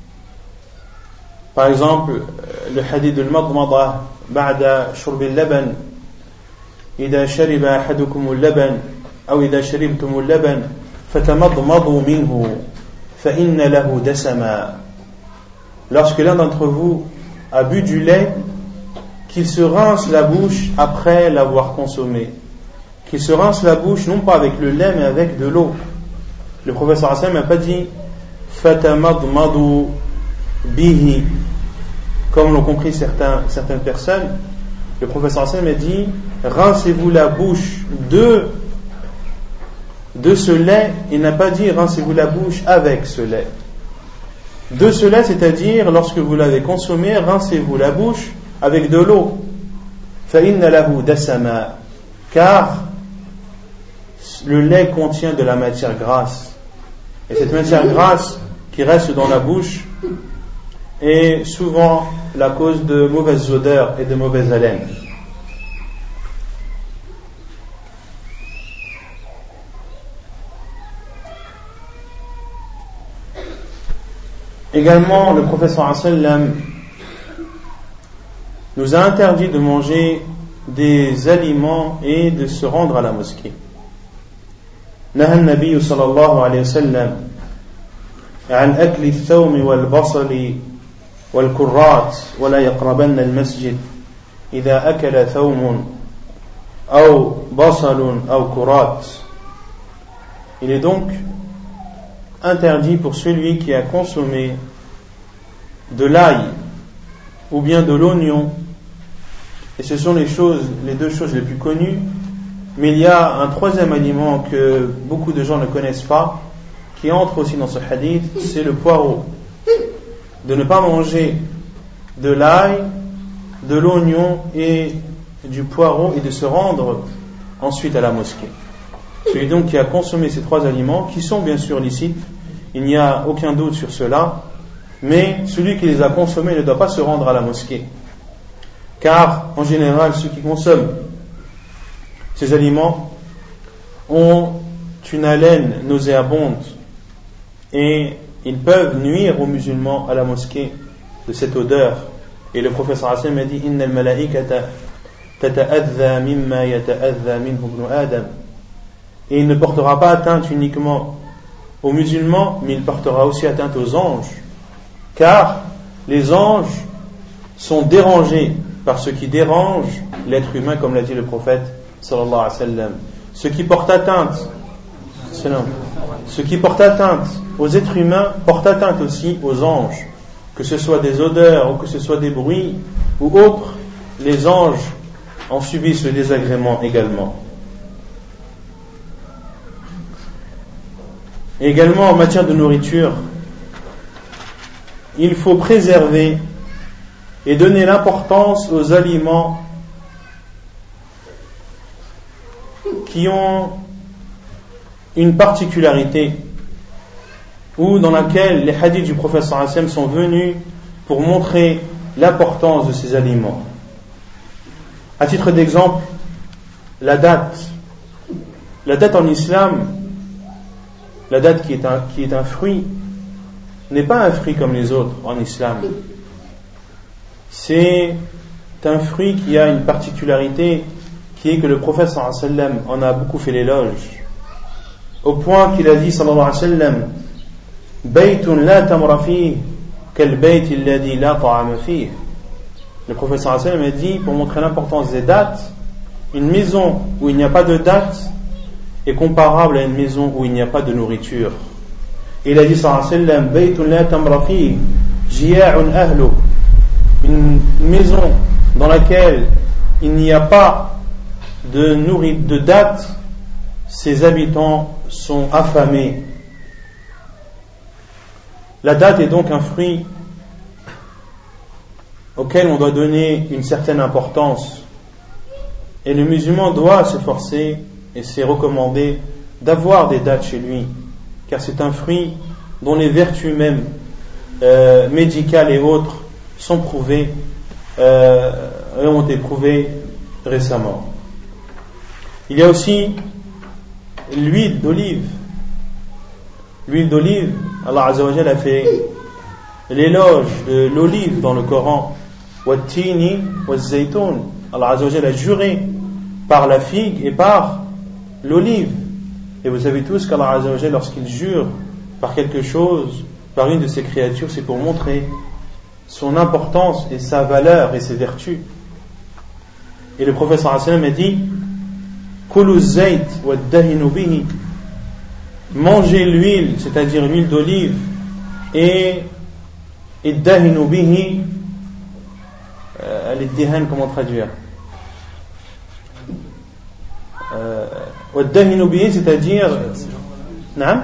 par exemple le hadith de al-madmada ba'da shurb al-laban idha shariba ahadukum al-laban أو إذا شربتم اللبن فتمضمضوا منه فإن له دسما. Lorsque l'un d'entre vous a bu du lait, qu'il se rince la bouche après l'avoir consommé, qu'il se rince la bouche non pas avec le lait mais avec de l'eau. Le prophète sallallahu alayhi wa sallam n'a pas dit fatamadmadu bihi comme l'ont compris certains, certaines personnes. Le prophète sallallahu alayhi wa sallam a dit rincez-vous la bouche de de ce lait. Il n'a pas dit rincez-vous la bouche avec ce lait. De ce lait, c'est-à-dire lorsque vous l'avez consommé, rincez-vous la bouche avec de l'eau. فَإِنَّ لَهُ دَسَمًا, car le lait contient de la matière grasse. Et cette matière grasse qui reste dans la bouche est souvent la cause de mauvaises odeurs et de mauvaises haleines. Également, le prophète sallallahu alayhi wa sallam nous a interdit de manger des aliments et de se rendre à la mosquée. نهى النبي صلى الله عليه وسلم عن أكل الثوم والبصل والكرات ولا يقربن المسجد إذا أكل ثوم أو بصل أو كرات. Il est donc interdit pour celui qui a consommé de l'ail ou bien de l'oignon, et ce sont les choses, les deux choses les plus connues, mais il y a un troisième aliment que beaucoup de gens ne connaissent pas, qui entre aussi dans ce hadith, c'est le poireau. De ne pas manger de l'ail, de l'oignon et du poireau, et de se rendre ensuite à la mosquée. Celui donc qui a consommé ces trois aliments, qui sont bien sûr licites, il n'y a aucun doute sur cela, mais celui qui les a consommés ne doit pas se rendre à la mosquée, car en général ceux qui consomment ces aliments ont une haleine nauséabonde et ils peuvent nuire aux musulmans à la mosquée de cette odeur. Et le prophète sallallahu alayhi wa sallam a dit Inna al-malaikata tata'adha mimma yata'adha minhu ibn Adam. Et il ne portera pas atteinte uniquement aux musulmans, mais il portera aussi atteinte aux anges, car les anges sont dérangés par ce qui dérange l'être humain, comme l'a dit le prophète sallallahu alayhi wa sallam. Ce qui porte atteinte, ce qui porte atteinte aux êtres humains porte atteinte aussi aux anges, que ce soit des odeurs ou que ce soit des bruits ou autres. Les anges en subissent le désagrément également. Et également en matière de nourriture, il faut préserver et donner l'importance aux aliments qui ont une particularité ou dans laquelle les hadiths du prophète sallallahu alayhi wa sallam sont venus pour montrer l'importance de ces aliments. À titre d'exemple, la date. La date en islam, la date qui est un, qui est un fruit, n'est pas un fruit comme les autres en islam. C'est un fruit qui a une particularité qui est que le prophète sallallahu alayhi wa sallam en a beaucoup fait l'éloge, au point qu'il a dit sallallahu alayhi wa sallam Baytun la tamra fihi kal bayt alladhi la ta'ama fihi. Le prophète sallallahu alayhi wa sallam a dit, pour montrer l'importance des dates, une maison où il n'y a pas de date est comparable à une maison où il n'y a pas de nourriture. Et il a dit sallallahu alayhi wa sallam Baytun la tamra fihi jiya'un ahlu. Une maison dans laquelle il n'y a pas de nourriture, de date, ses habitants sont affamés. La date est donc un fruit auquel on doit donner une certaine importance, et le musulman doit s'efforcer, et c'est recommandé, d'avoir des dates chez lui, car c'est un fruit dont les vertus même euh, médicales et autres sont prouvées euh, et ont été prouvées récemment. Il y a aussi l'huile d'olive. L'huile d'olive, Allah Azza wa Jalla a fait l'éloge de l'olive dans le Coran. Wattini wazzaytoun. Allah Azza wa Jalla a juré par la figue et par l'olive. Et vous savez tous qu'Allah Azza wa Jalla, lorsqu'il jure par quelque chose, par une de ses créatures, c'est pour montrer son importance et sa valeur et ses vertus. Et le prophète sallallahu alayhi wa sallam a dit Kulu zayt waddahinu bihi. Mangez l'huile, c'est-à-dire l'huile d'olive, et iddahinu bihi, l'iddihan, comment traduire, waddahinu bihi, c'est-à-dire non,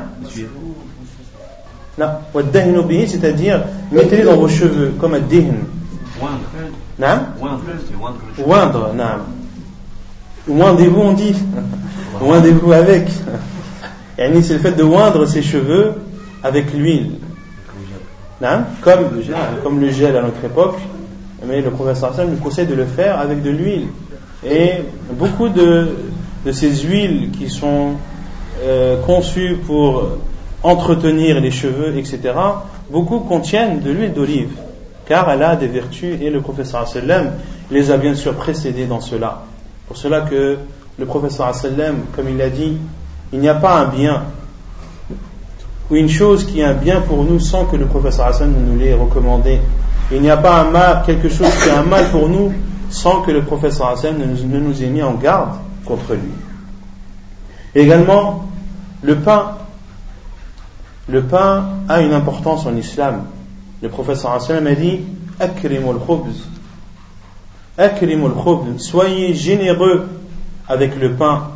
non, waddahinu bihi, c'est-à-dire mettez-les dans vos cheveux comme un dihn. Non, oindre, non, oindez-vous, on dit, oindez-vous avec. Et c'est le fait de oindre ses cheveux avec l'huile, non, comme, comme le gel à notre époque, mais le prophète sallallahu alayhi wa sallam nous conseille de le faire avec de l'huile. Et beaucoup de, de ces huiles qui sont euh, conçues pour entretenir les cheveux, et cetera, beaucoup contiennent de l'huile d'olive, car elle a des vertus, et le prophète sallallahu alayhi wa sallam les a bien sûr précédés dans cela. Pour cela que le prophète sallallahu alayhi wa sallam, comme il l'a dit, il n'y a pas un bien ou une chose qui est un bien pour nous sans que le prophète sallallahu alayhi wa sallam nous l'ait recommandé. Il n'y a pas un mal, quelque chose qui est un mal pour nous sans que le prophète sallallahu alayhi wa sallam ne nous ait mis en garde contre lui. Et également, le pain. Le pain a une importance en islam. Le prophète sallallahu alayhi wa sallam a dit Akrimul khubz. Akrimul khubz. Soyez généreux avec le pain.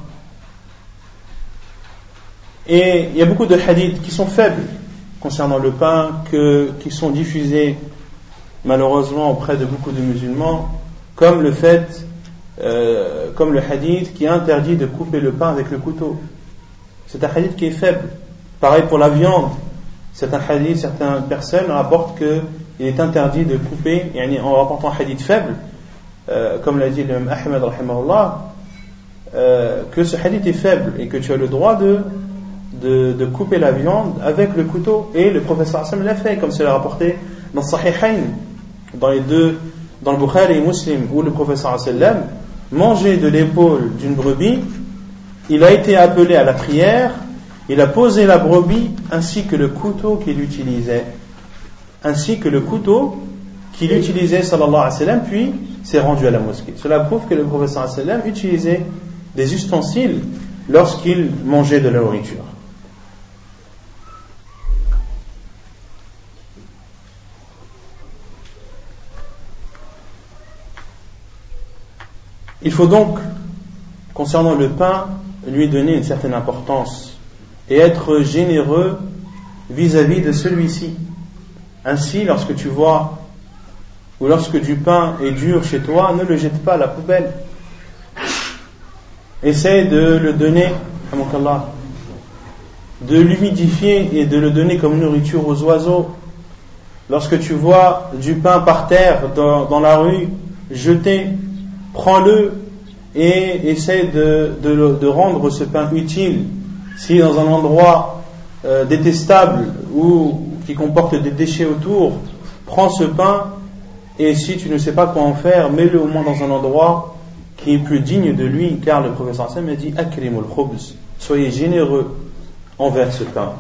Et il y a beaucoup de hadiths qui sont faibles concernant le pain, que, qui sont diffusés malheureusement auprès de beaucoup de musulmans, comme le fait, euh, comme le hadith qui interdit de couper le pain avec le couteau. C'est un hadith qui est faible. Pareil pour la viande. C'est un hadith, certaines personnes rapportent qu'il est interdit de couper, en rapportant un hadith faible, euh, comme l'a dit l'imam Ahmed rahimahullah, euh, que ce hadith est faible et que tu as le droit de de, de couper la viande avec le couteau, et le prophète sallallahu alayhi wa sallam l'a fait, comme c'est rapporté dans Sahihain, dans les deux, dans le Bukhari et Muslim, où le prophète sallallahu alayhi wa sallam mangeait de l'épaule d'une brebis. Il a été appelé à la prière, il a posé la brebis ainsi que le couteau qu'il utilisait, ainsi que le couteau qu'il utilisait sallallahu alayhi wa sallam, puis s'est rendu à la mosquée. Cela prouve que le prophète sallallahu alayhi wa sallam utilisait des ustensiles lorsqu'il mangeait de la nourriture. Il faut donc, concernant le pain, lui donner une certaine importance et être généreux vis-à-vis de celui-ci. Ainsi, lorsque tu vois ou lorsque du pain est dur chez toi, ne le jette pas à la poubelle. Essaie de le donner, de l'humidifier et de le donner comme nourriture aux oiseaux. Lorsque tu vois du pain par terre dans, dans la rue, jeté, prends-le et essaie de, de, de rendre ce pain utile. Si dans un endroit euh, détestable ou qui comporte des déchets autour, prends ce pain, et si tu ne sais pas quoi en faire, mets-le au moins dans un endroit qui est plus digne de lui, car le professeur Sam a dit akrimul khubz, soyez généreux envers ce pain.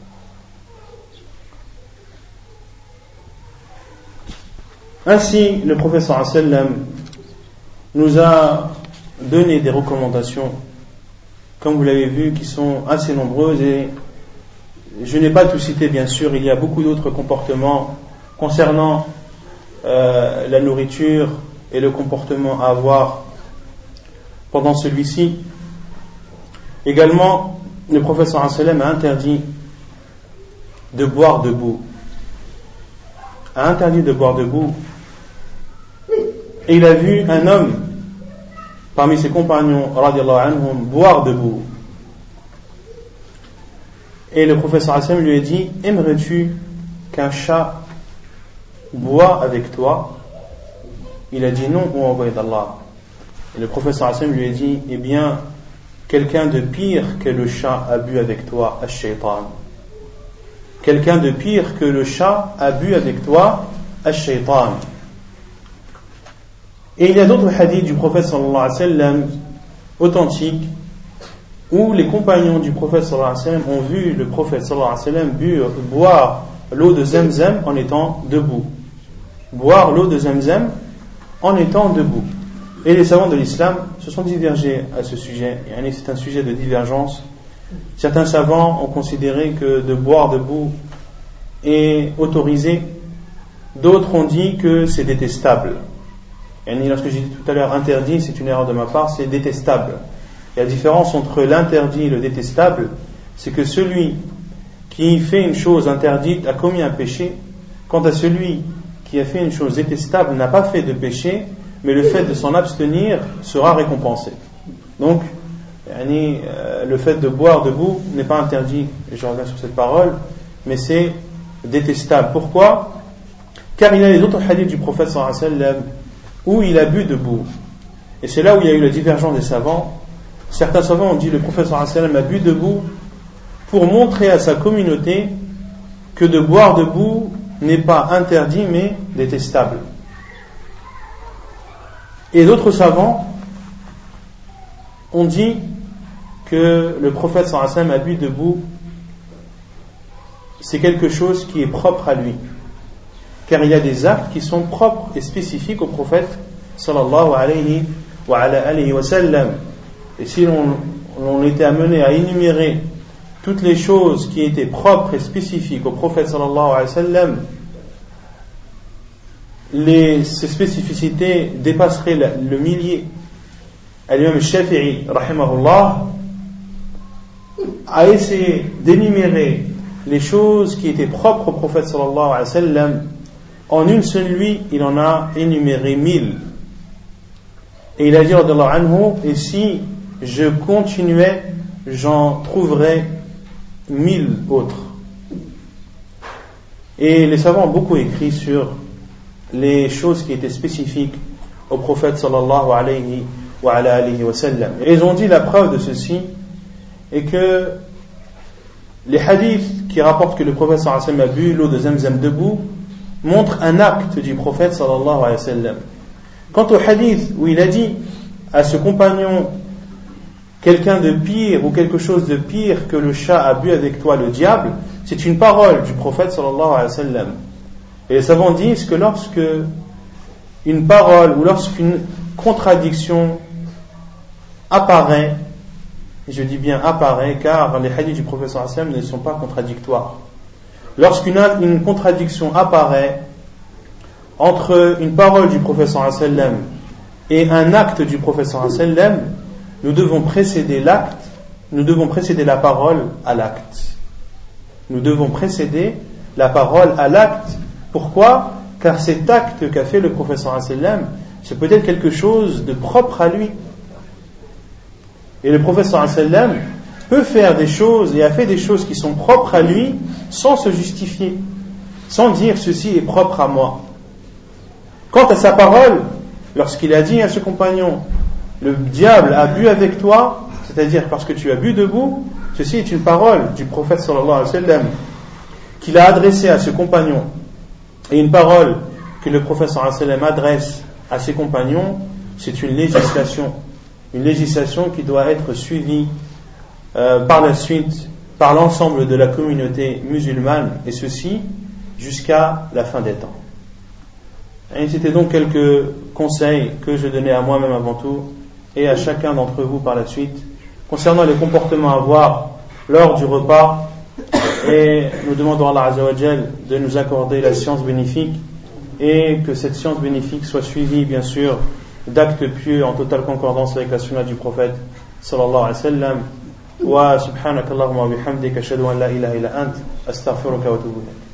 Ainsi, le professeur sallam nous a donné des recommandations, comme vous l'avez vu, qui sont assez nombreuses, et je n'ai pas tout cité, bien sûr. Il y a beaucoup d'autres comportements concernant euh, la nourriture et le comportement à avoir pendant celui-ci. Également, le prophète sallallahu alayhi wa sallam a interdit de boire debout. A interdit de boire debout. Et il a vu un homme parmi ses compagnons, radiallahu anhum, boire debout. Et le prophète sallallahu alayhi wa sallam lui a dit: aimerais-tu qu'un chat boit avec toi? Il a dit non, ô envoyé d'Allah. Et le prophète sallallahu alayhi wa sallam lui a dit: eh bien, quelqu'un de pire que le chat a bu avec toi, ash-shaytan. Quelqu'un de pire que le chat a bu avec toi, ash-shaytan. Et il y a d'autres hadiths du prophète sallallahu alayhi wa sallam authentiques où les compagnons du prophète sallallahu alayhi wa sallam ont vu le prophète sallallahu alayhi wa sallam bu, boire l'eau de Zamzam en étant debout. Boire l'eau de Zamzam en étant debout. Et les savants de l'islam se sont divergés à ce sujet. C'est un sujet de divergence. Certains savants ont considéré que de boire debout est autorisé. D'autres ont dit que c'est détestable. Et lorsque j'ai dit tout à l'heure interdit, c'est une erreur de ma part, c'est détestable. Et la différence entre l'interdit et le détestable, c'est que celui qui fait une chose interdite a commis un péché, quant à celui qui a fait une chose détestable n'a pas fait de péché, mais le fait de s'en abstenir sera récompensé. Donc, le fait de boire debout n'est pas interdit, et je reviens sur cette parole, mais c'est détestable. Pourquoi? Car il y a les autres hadiths du prophète sallallahu alayhi wa sallam où il a bu debout. Et c'est là où il y a eu la divergence des savants. Certains savants ont dit le prophète sallallahu alayhi wa sallam a bu debout pour montrer à sa communauté que de boire debout n'est pas interdit mais détestable. Et d'autres savants ont dit que le prophète sallallahu alayhi wa sallam a bu debout, c'est quelque chose qui est propre à lui. Car il y a des actes qui sont propres et spécifiques au prophète sallallahu alayhi wa, ala alayhi wa sallam. Et si l'on, l'on était amené à énumérer toutes les choses qui étaient propres et spécifiques au prophète sallallahu alayhi wa sallam, les, ces spécificités dépasseraient le, le millier. Al-Imam Shafi'i rahimahullah a essayé d'énumérer les choses qui étaient propres au prophète sallallahu alayhi wa sallam. En une seule nuit, il en a énuméré mille. Et il a dit, radiyallahu anhu, et si je continuais, j'en trouverais mille autres. Et les savants ont beaucoup écrit sur les choses qui étaient spécifiques au prophète sallallahu alayhi wa ala alihi wa sallam. Et ils ont dit la preuve de ceci est que les hadiths qui rapportent que le prophète sallallahu alayhi wa sallam a bu l'eau de Zamzam debout montrent un acte du prophète sallallahu alayhi wa sallam. Quant au hadith où il a dit à ce compagnon, quelqu'un de pire ou quelque chose de pire que le chat a bu avec toi, le diable, c'est une parole du prophète sallallahu alayhi wa sallam. Et les savants disent que lorsque une parole ou lorsqu'une contradiction apparaît, et je dis bien apparaît, car les hadiths du prophète sallallahu alayhi wa sallam ne sont pas contradictoires. Lorsqu'une une contradiction apparaît entre une parole du prophète sallallahu alayhi wa sallam et un acte du prophète sallallahu alayhi wa sallam, nous devons précéder l'acte, nous devons précéder la parole à l'acte. Nous devons précéder la parole à l'acte. Pourquoi ? Car cet acte qu'a fait le prophète sallallahu alayhi wa sallam, c'est peut-être quelque chose de propre à lui. Et le prophète sallallahu alayhi wa sallam peut faire des choses et a fait des choses qui sont propres à lui sans se justifier, sans dire ceci est propre à moi. Quant à sa parole, lorsqu'il a dit à ce compagnon, le diable a bu avec toi, c'est-à-dire parce que tu as bu debout, ceci est une parole du prophète sallallahu alayhi wa sallam qu'il a adressée à ce compagnon, et une parole que le prophète sallallahu alayhi wa sallam adresse à ses compagnons, c'est une législation, une législation qui doit être suivie euh, par la suite par l'ensemble de la communauté musulmane, et ceci jusqu'à la fin des temps. Et c'était donc quelques conseils que je donnais à moi-même avant tout et à chacun d'entre vous par la suite concernant les comportements à avoir lors du repas, et nous demandons à Allah Azza wa Jal de nous accorder la science bénéfique et que cette science bénéfique soit suivie bien sûr d'actes pieux en totale concordance avec la sunna du prophète sallallahu alayhi wa sallam. Wa subhanakallahumma wa bihamdika ashhadu an la ilaha illa ant astaghfiruka wa atubu ilayk.